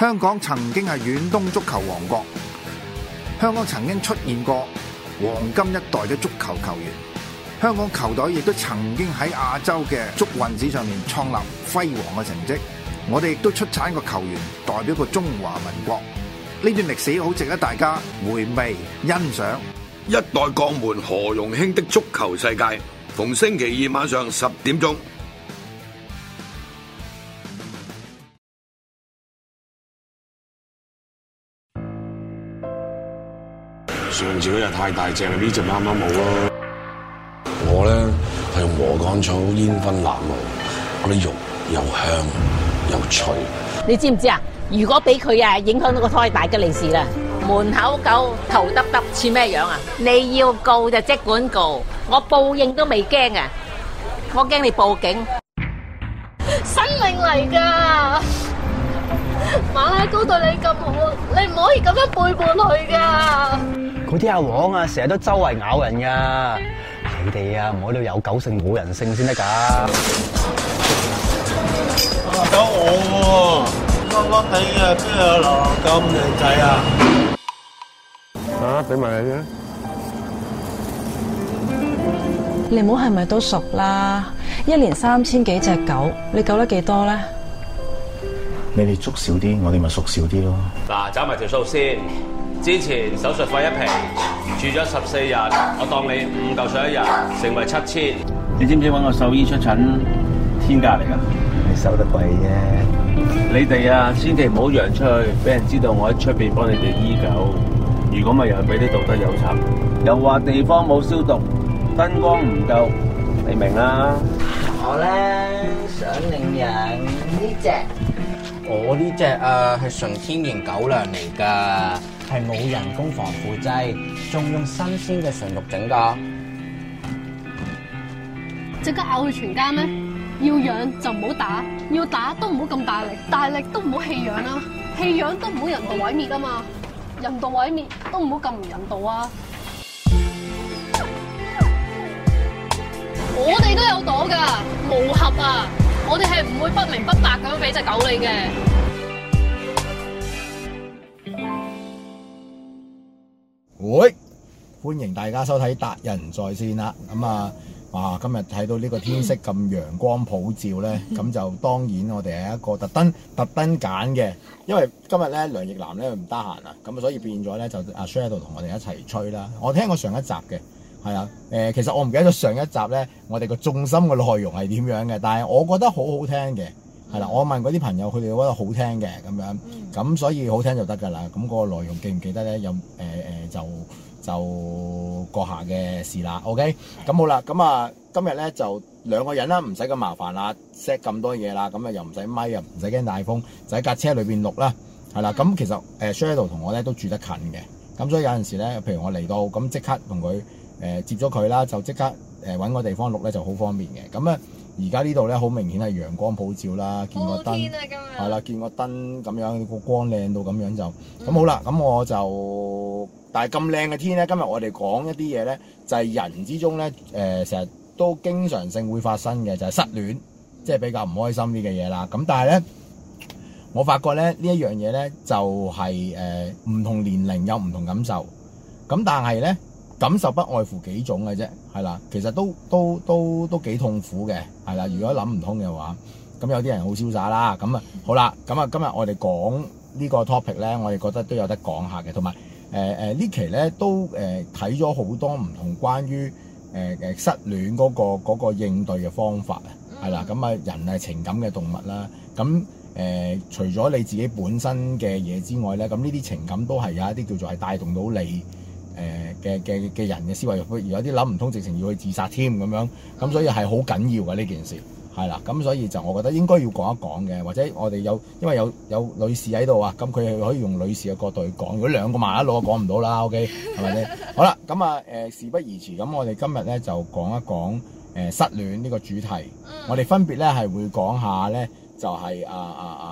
香港曾經係遠東足球王國，香港曾經出現過黃金一代嘅足球球員，香港球隊亦都曾經喺亞洲嘅足運史上面創立輝煌嘅成績。我哋亦都出產個球員代表過中華民國，呢段歷史好值得大家回味欣賞。 一代鋼門何容興的足球世界，逢星期二晚上10點鐘。 上次嗰隻太大隻啦，呢隻啱啱好咯。我咧係用禾稈草煙燻鴨肉，嗰啲肉又香又脆。 你知唔知啊？如果俾佢影響到個胎大吉利是啦。門口狗頭耷耷似咩樣啊？你要告就即管告，我報應都未驚啊！我驚你報警。 生命嚟噶，馬拉糕對你咁好，你唔可以咁樣背叛佢噶。 嗰啲阿黃啊，成日都周圍咬人噶，你哋啊唔可以有狗性冇人性先得噶。 有我喎，笠笠地啊，邊有流浪狗咁靚仔啊？ 俾埋你啫。 你唔好係咪都熟啦？1年3000幾隻狗，你救得幾多咧？ 你哋捉少啲，我哋咪縮少啲咯。 嗱，找埋條數先。之前手術費1皮，住咗14日，我當你5嚿水1日，成為7000。 你知唔知揾個獸醫出診天價嚟㗎？ 你收得貴啫。 你哋啊，千祈唔好揚出去，俾人知道我喺出邊幫你哋醫狗。如果咪又係俾啲道德有賊，又話地方冇消毒，燈光唔夠，你明啦。 我咧想領養呢隻。我呢隻係純天然狗糧嚟噶，係冇人工防腐劑，仲用新鮮嘅純肉整噶。 即刻咬佢全家咩？要養就唔好打，要打都唔好咁大力，大力都唔好棄養啦，棄養都唔好人道毀滅啊嘛，人道毀滅都唔好咁唔人道啊！我哋都有朵噶，無合啊！我哋係唔會不明不白咁樣俾隻狗你嘅。 喂，歡迎大家收睇達仁在線啦。咁啊，哇！今日睇到呢個天色咁陽光普照咧，咁就當然我哋係一個特登揀嘅，因為今日咧梁奕藍咧唔得閒啊，咁所以變咗咧就阿 Shadow 同我哋一齊吹啦。我聽過上一集嘅。係啊，其實我唔記得咗上一集咧，我哋個重心嘅內容係點樣嘅，但係我覺得好好聽嘅，係啦，我問嗰啲朋友，佢哋覺得好聽嘅咁樣，咁所以好聽就得㗎啦。咁嗰個內容記唔記得咧？有就閣下嘅事啦。OK， 咁好啦，咁啊今日咧就2個人啦，唔使咁麻煩啦 ，set 咁多嘢啦，咁啊又唔使咪，又唔使驚大風，就喺架車裏邊錄啦，係啦。咁其實Shadow 同我咧都住得近嘅，咁所以有陣時咧，譬如我嚟到咁即刻同佢。接咗佢啦，就即刻揾個地方錄咧就好方便嘅。咁而家呢度咧好明顯係陽光普照啦，見個燈係啦，見個燈咁樣個光靚到咁樣就咁好啦。咁我就但係咁靚嘅天咧，今日我哋講一啲嘢咧，就係人之中咧成日都經常性會發生嘅，就係失戀，即係比較唔開心啲嘅嘢啦。咁但係咧，我發覺咧呢一樣嘢咧就係唔同年齡有唔同感受，咁但係咧。感受不外乎幾種嘅啫，係啦，其實都幾痛苦嘅，係啦。如果諗唔通嘅話，咁有啲人好瀟灑啦。咁啊，好啦，咁啊，今日我哋講呢個 topic 咧，我哋覺得都有得講下嘅，同埋呢期咧都睇咗好多唔同關於失戀嗰個應對嘅方法啊，係啦。咁啊，人係情感嘅動物啦，咁除咗你自己本身嘅嘢之外咧，咁呢啲情感都係有一啲叫做係帶動到你。嘅人嘅思維，而有啲諗唔通，直情要去自殺添咁樣，咁所以係好緊要嘅呢件事，係啦，咁所以就我覺得應該要講一講嘅，或者我哋因為有女士喺度啊，咁佢係可以用女士嘅角度去講，如果2個麻甩佬講唔到啦 ，OK 係咪先？好啦，咁啊事不宜遲，咁我哋今日咧就講一講失戀呢個主題，我哋分別咧係會講下咧就係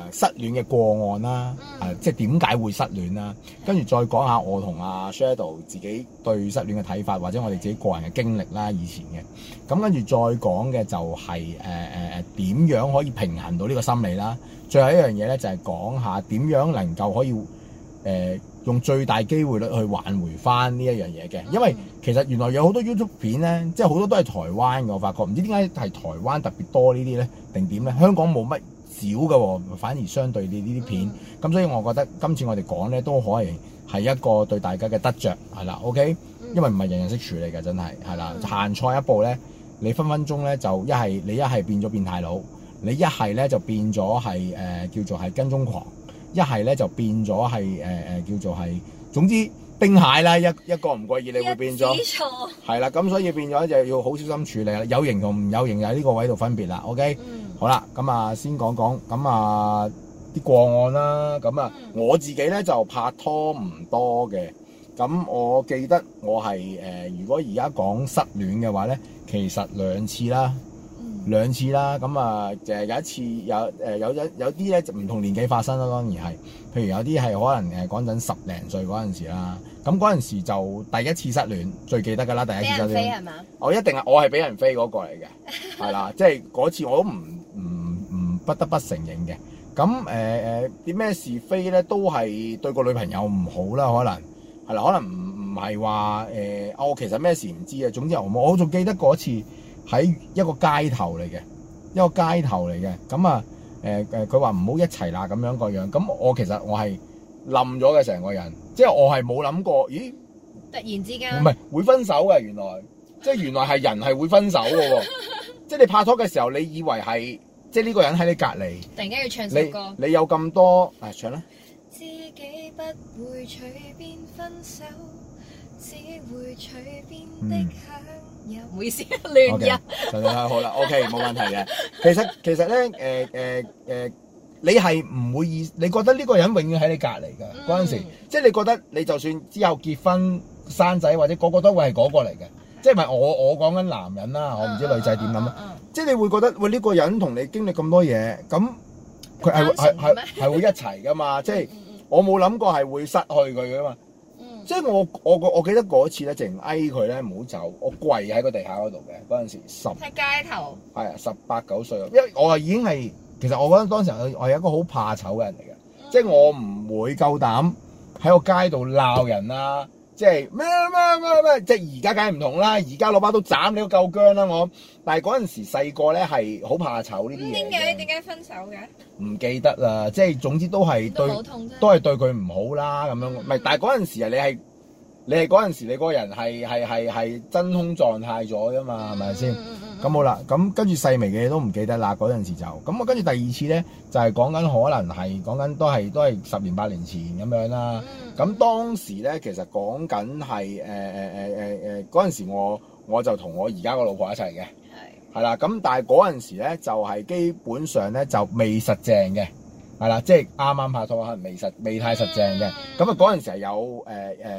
失戀嘅個案啦，即係點解會失戀啦，跟住再講下我同阿 Shadow 自己對失戀嘅睇法，或者我哋自己個人嘅經歷啦，以前嘅。咁跟住再講嘅就係點樣可以平衡到呢個心理啦。最後一樣嘢咧就係講下點樣能夠可以用最大機會率去挽回翻呢一樣嘢嘅，因為其實原來有好多 YouTube 片咧，即係好多都係台灣嘅，我發覺唔知點解係台灣特別多呢啲咧，定點咧？香港冇乜少嘅喎，反而相對呢啲片，咁所以我覺得今次我哋講咧都可以係一個對大家嘅得着，係啦 ，OK，因為唔係人人識處理嘅，真係係啦，行錯一步咧，你分分鐘咧就一係變咗變態佬，你一係咧就變咗係叫做係跟蹤狂。一係咧就變咗係叫做係，總之丁蟹啦，一個唔覺意你會變咗，係啦，咁所以變咗就要好小心處理啦。有型同唔有型就喺呢個位度分別啦。OK，好啦，咁啊先講講咁啊啲個案啦。咁啊我自己咧就拍拖唔多嘅，咁我記得我係如果而家講失戀嘅話咧，其實兩次啦，咁啊就係有一次有啲咧就唔同年紀發生啦，當然係，譬如有啲係可能講緊10零歲嗰陣時啦，咁嗰陣時就第一次失戀，最記得㗎啦，第一次失戀。俾人飛係嘛？我係俾人飛嗰個嚟嘅，係啦，即係嗰次我都唔不得不承認嘅。咁啲咩是非咧，都係對個女朋友唔好啦，可能係啦，可能唔係話我其實咩事唔知啊，總之我仲記得嗰次。喺一個街頭嚟嘅，咁啊佢話唔好一齊啦咁樣個樣，咁我其實我係冧咗嘅成個人，即係我係冇諗過，咦？ 突然之間唔係會分手嘅，原來係人係會分手嘅喎，即係你拍拖嘅時候，你以為係即係呢個人喺你隔離， 突然間要唱首歌， 你有咁多唱啦。 自己不會隨便分手，只會隨便的享。唔好意思，亂入。 好啦 ，OK， 冇問題嘅。其實咧，你係唔會你覺得呢個人永遠喺你隔離㗎嗰陣時，即係你覺得你就算之後結婚生仔或者個都會係嗰個嚟嘅，即係唔係我講緊男人啦，我唔知女仔點諗啊。即係你會覺得喂呢個人同你經歷咁多嘢，咁佢係會一齊㗎嘛？即係我冇諗過係會失去佢㗎嘛。即係我記得嗰次咧，淨嗌佢咧唔好走，我跪喺個地下嗰度嘅嗰陣時喺街頭， 係啊18、9歲，因為我係已經係其實我覺得當時我係一個好怕醜嘅人嚟嘅，即係我唔會夠膽喺個街度鬧人啦，即係咩，即係而家梗係唔同啦，而家攞把刀斬你都夠薑啦我，但係嗰陣時細個咧係好怕醜呢啲嘢。 點解分手嘅？ 唔記得啦，即係總之都係對佢唔好啦咁樣，唔係，但係嗰陣時啊，你係嗰陣時你個人係真空狀態咗㗎嘛，係咪先？咁好啦，咁跟住細微嘅嘢都唔記得啦，嗰陣時就咁我跟住第二次咧就係講緊可能係講緊都係10年8年前咁樣啦。咁當時咧其實講緊係嗰陣時我就同我而家個老婆一齊嘅。係啦，咁但係嗰陣時咧就係基本上咧就未實正嘅，係啦，即係啱啱拍拖可能未太實正嘅。咁啊嗰陣時係有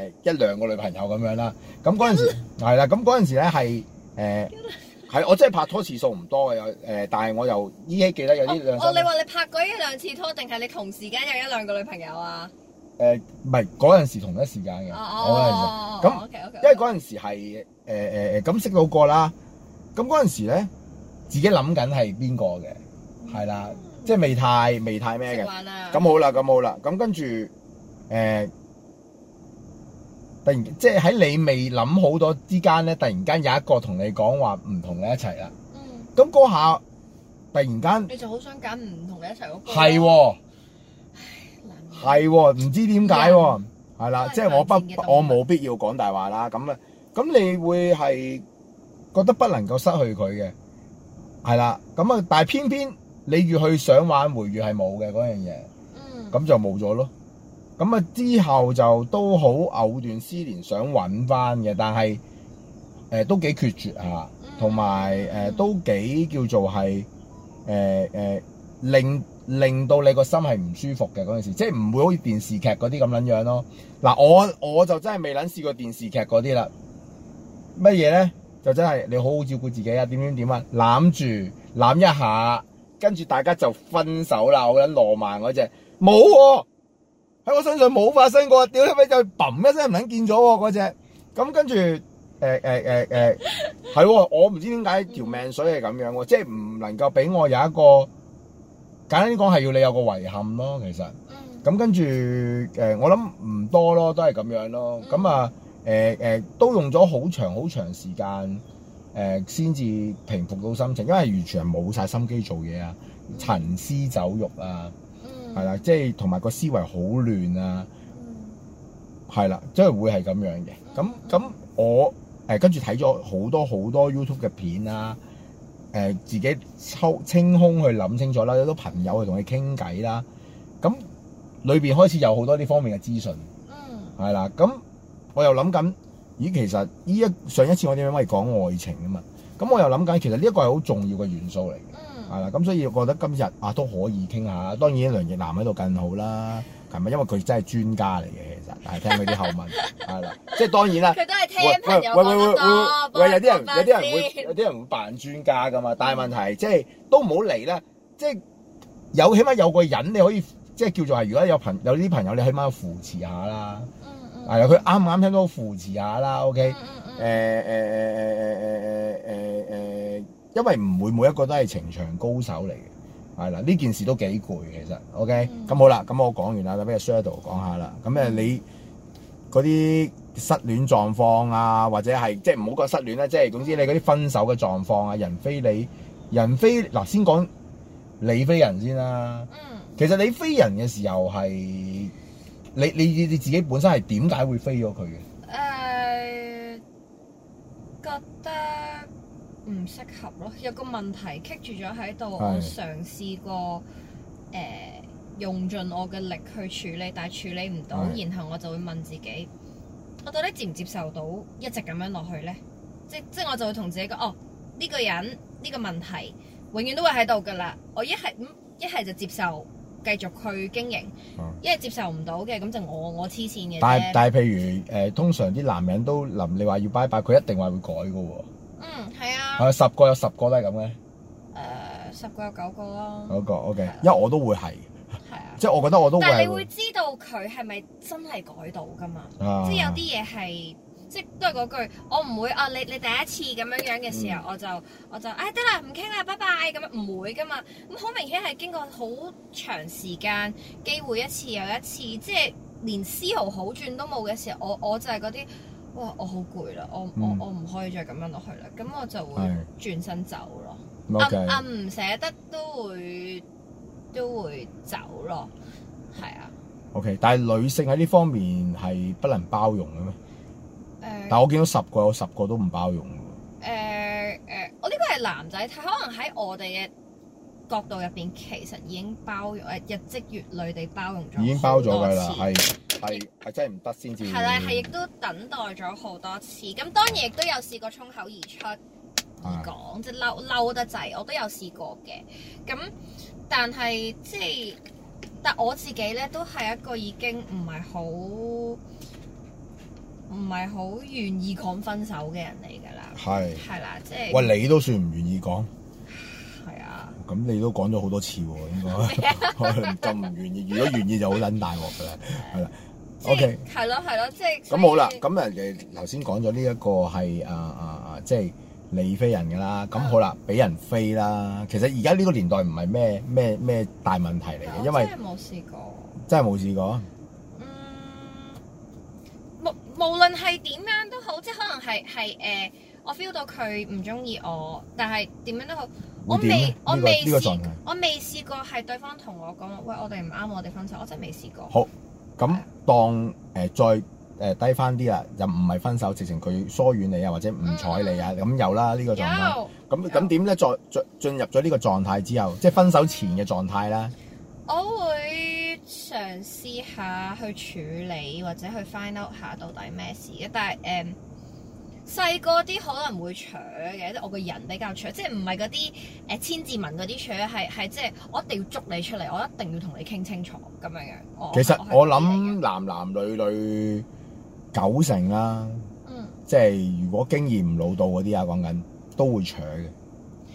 1、2個女朋友咁樣啦。咁嗰陣時係啦，咁嗰陣時咧係我真係拍拖次數唔多嘅，但係我又依稀記得有啲兩。 你話你拍過1、2次拖，定係你同時間有1、2個女朋友啊？ 唔係嗰陣時同一時間嘅，咁因為嗰陣時係咁識到個啦。咁嗰陣時咧，自己諗緊係邊個嘅，係啦，即係未太咩嘅。咁好啦，咁跟住突然即係喺你未諗好多之間咧，突然間有一個同你講話唔同你一齊啦。咁嗰下突然間， 你就好想揀唔同你一齊嗰個。 係喎，係喎，唔知點解喎，係啦，即係我冇必要講大話啦。咁你會係覺得不能夠失去佢嘅，係啦，咁啊，但係偏偏你越去想挽回，越係冇嘅嗰樣嘢，咁就冇咗咯。咁啊之後就都好藕斷絲連想揾翻嘅，但係都幾決絕嚇，同埋都幾叫做係令到你個心係唔舒服嘅嗰陣時，即係唔會好似電視劇嗰啲咁撚樣咯。嗱，我就真係未撚試過電視劇嗰啲啦。乜嘢咧？就真係你好好照顧自己啊，點啊，攬一下， 跟住大家就分手啦，好撚浪漫嗰隻冇喎，喺我身上冇發生過，屌你咪就砰一聲唔撚見咗喎嗰隻，咁跟住係喎，我唔知點解條命水係咁樣喎，即係唔能夠俾我有一個簡單啲講係要你有個遺憾咯，其實。咁跟住我諗唔多咯，都係咁樣咯。咁啊都用咗好長時間先至平復到心情，因為完全係冇晒心機做嘢啊，行屍走肉啊，係啦，即係同埋個思維好亂啊，係啦，即係會係咁樣嘅。咁我跟住睇咗好多 YouTube 嘅片啦，自己清空去諗清楚啦，有好多朋友去同你傾偈啦，咁。裏邊開始有好多呢方面嘅資訊，係啦，咁我又諗緊，咦，其實上一次我點解可以講愛情啊嘛，咁我又諗緊，其實呢一個係好重要嘅元素嚟嘅，係啦，咁所以我覺得今日都可以傾下，當然梁奕南喺度更好啦，係咪？因為佢真係專家嚟嘅，其實，但係聽佢啲後問，係啦，即係當然啦， 佢都係聽朋友講得多， 有啲人會扮專家噶嘛，但係問題即係都唔好嚟啦，即係起碼有個人你可以。即係叫做係，如果有啲朋友，你起碼扶持下啦。係啊，佢啱唔啱聽到扶持下啦。OK。因為唔會每一個都係情場高手嚟嘅，係啦，呢件事都幾攰其實。OK。咁好啦，咁我講完啦，咁俾阿 Shadow 講下啦。咁你嗰啲失戀狀況啊，或者係即係唔好講失戀啦，即係總之你嗰啲分手嘅狀況啊，人非嗱，先講你非人先啦。其實你飛人嘅時候係你自己本身係點解會飛咗佢嘅？ 覺得唔適合咯，有個問題棘住咗喺度，我嘗試過用盡我嘅力去處理，但係處理唔到，然後我就會問自己，我到底接唔接受到一直咁樣落去咧？即係我就會同自己講，哦，呢個人呢個問題永遠都會喺度噶啦，我一係就接受。繼續去經營，因為接受唔到嘅，咁就我黐線嘅啫。但係譬如通常啲男人都臨你話要拜拜，佢一定話會改嘅喎。係啊。係10個有10個都係咁嘅。10個有9個咯。9個 OK，因為我都會係。係啊。即係我覺得我都會。但係你會知道佢係咪真係改到㗎嘛？即係有啲嘢係。即都係嗰句，我唔會你第一次咁樣嘅時候，我就得啦，唔傾啦，拜拜咁樣，唔會噶嘛。咁好明顯係經過好長時間機會一次又一次，即係連絲毫好轉都冇嘅時候，我就係嗰啲，哇！我好攰啦，我唔可以再咁樣落去啦，咁我就會轉身走咯。唔捨得都會走咯，係啊。OK， 但係女性喺呢方面係不能包容嘅咩？但我見到10個有10個都唔包容喎。我呢個係男仔睇，可能喺我哋嘅角度入邊，其實已經包容日積月累地包容咗。已經包咗㗎啦，係真係唔得先至。係啦，係亦都等待咗好多次。咁當然亦都有試過衝口而出而講，即係嬲得滯，我都有試過嘅。咁但係但我自己咧都係一個已經唔係好願意講分手嘅人嚟㗎啦，係啦，即係。喂，你都算唔願意講？係啊。咁你都講咗好多次喎，應該咁唔願意。如果願意就好撚大鑊㗎啦，係啦。OK。係咯，即係。咁好啦，咁頭先講咗呢一個係即係你飛人㗎啦。咁好啦，俾人飛啦。其實而家呢個年代唔係咩大問題嚟嘅，因為真係冇試過。真係冇試過。無論係點樣都好，即係可能係我 feel 到佢唔中意我，但係點樣都好，我未試過係對方同我講，喂，我哋唔啱，我哋分手，我真係未試過。好，咁當再低翻啲啦，又唔係分手，直情佢疏遠你啊，或者唔睬你啊，咁有啦呢個狀態。咁點咧？再進入咗呢個狀態之後，即係分手前嘅狀態啦。我會嘗試下去處理或者去 find out 下到底咩事嘅，但係細個啲可能會搶嘅，即係我個人比較搶，即係唔係嗰啲千字文嗰啲搶，係即係我一定要捉你出嚟，我一定要同你傾清楚咁樣樣。其實我諗男女90%啦，即係如果經驗唔老到嗰啲啊，講緊都會搶嘅。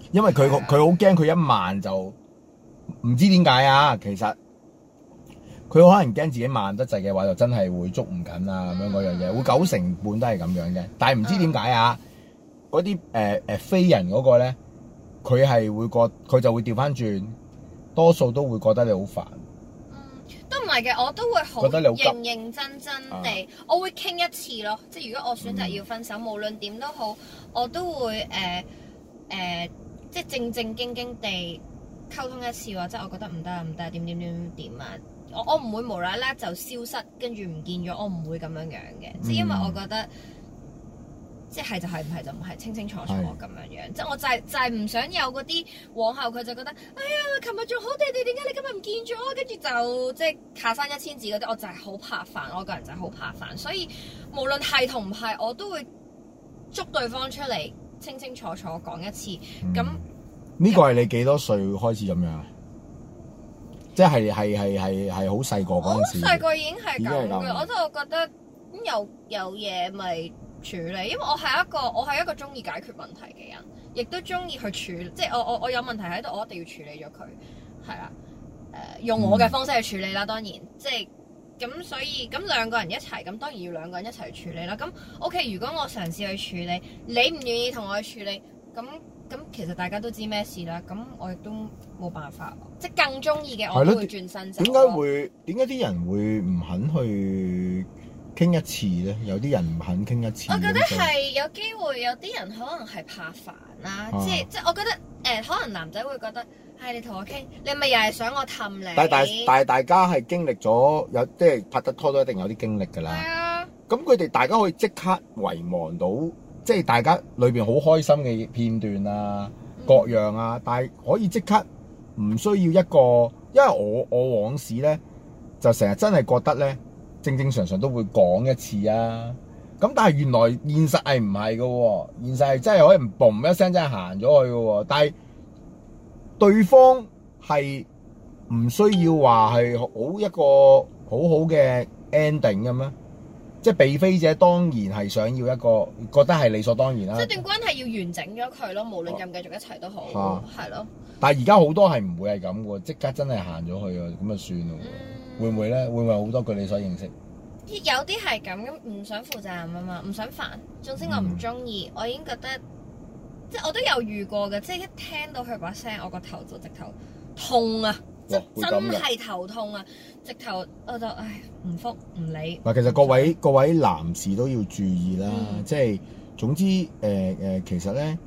因為佢好驚佢一慢就唔知點解啊，其實佢可能驚自己慢得滯嘅話，就真係會捉唔緊啊咁樣嗰樣嘢，會90%都係咁樣嘅。但係唔知點解啊，嗰啲飛人嗰個咧，佢就會調翻轉，多數都會覺得你好煩。 都唔係嘅，我都會好認真地，我會傾一次咯。即係如果我選擇要分手，無論點都好，我都會即係正經地溝通一次，或者我覺得唔得點啊。我唔會無啦啦就消失，跟住唔見咗，我唔會咁樣嘅。即係因為我覺得，即係就係，唔係就唔係，清清楚楚咁樣。即係我就係唔想有嗰啲往後佢就覺得，哎呀，琴日仲好地地，點解你今日唔見咗？跟住就即係下山1000字嗰啲，我就係好怕煩，我個人就係好怕煩。所以無論係同唔係，我都會捉對方出嚟，清清楚楚講一次。咁呢個係你幾多歲開始咁樣？即係好細個嗰陣時。 好細個已經係咁嘅，我就覺得有嘢咪處理，因為我係一個中意解決問題嘅人，亦都中意去處理，即係我有問題喺度，我一定要處理咗佢，係啦，用我嘅方式去處理啦，當然，即係咁，所以咁兩個人一齊，咁當然要兩個人一齊去處理啦。咁 OK， 如果我嘗試去處理，你唔願意同我去處理，咁其實大家都知咩事啦，咁我亦都冇辦法，即係更中意嘅我都會轉身走。點解啲人會唔肯去傾一次咧？有啲人唔肯傾一次。 我覺得係有機會，有啲人可能係怕煩啦，即係我覺得可能男仔會覺得，你同我傾，你咪又係想我氹你。 但係大家係經歷咗即係拍得拖都一定有啲經歷㗎啦。係啊。咁佢哋大家可以即刻遺忘到。即係大家裏邊好開心嘅片段啊，各樣啊，但係可以即刻唔需要一個，因為我往事咧就成日真係覺得咧正常都會講一次啊，咁但係原來現實係唔係嘅喎，現實係真係可以嘣一聲真係行咗去嘅喎，但係對方係唔需要話係一個好嘅 ending 嘅咩？即係被飛者當然係想要一個覺得係理所當然啦。即係段關係要完整咗佢咯，無論繼唔繼續一齊都好，係咯。 但係而家好多係唔會係咁嘅，即刻真係行咗去啊，咁就算咯。會唔會咧？會唔會好多據你所認識？ 有啲係咁，唔想負責任啊嘛，唔想煩。總之我唔中意，我已經覺得，即係我都有遇過嘅，即係一聽到佢把聲，我個頭就直頭痛啊！真係頭痛啊！直頭我就唔覆唔理。 嗱，其實各位男士都要注意啦，即係總之其實咧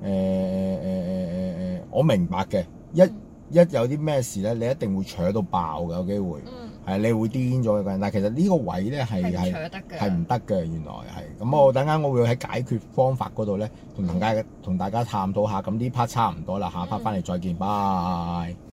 我明白嘅，一有啲咩事咧，你一定會扯到爆嘅，有機會係你會癲咗嘅人。但係其實呢個位咧係唔得嘅，原來係咁。我等間我會喺解決方法嗰度咧同大家探討下。咁呢 part 差唔多啦，下 part 翻嚟再見，拜。